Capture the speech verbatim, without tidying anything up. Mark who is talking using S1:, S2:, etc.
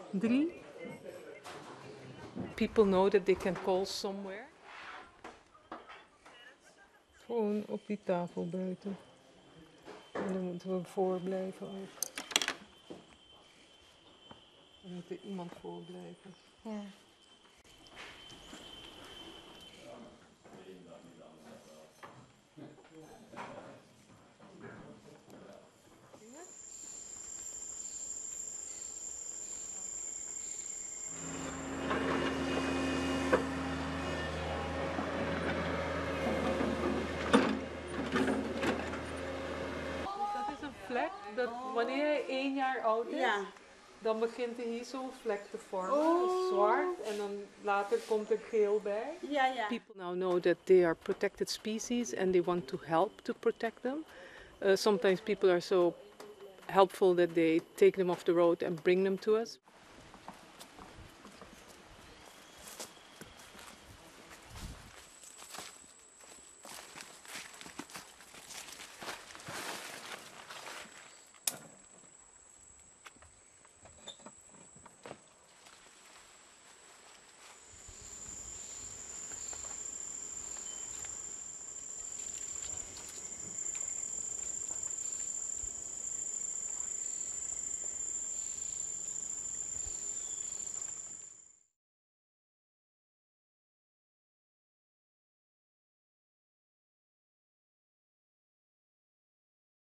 S1: Drie. People know that they can call somewhere. Gewoon op die tafel buiten. En dan moeten we voor blijven ook. Er moet er iemand voor blijven.
S2: Ja.
S1: Dat is een vlek dat wanneer hij één jaar oud is,
S2: Ja.
S1: dan begint er hier zo'n vlek te vormen.
S2: Oh.
S1: Zwart en dan later komt er geel bij.
S2: Ja, ja.
S1: People now know that they are protected species and they want to help to protect them. Uh, sometimes people are so helpful that they take them off the road and bring them to us.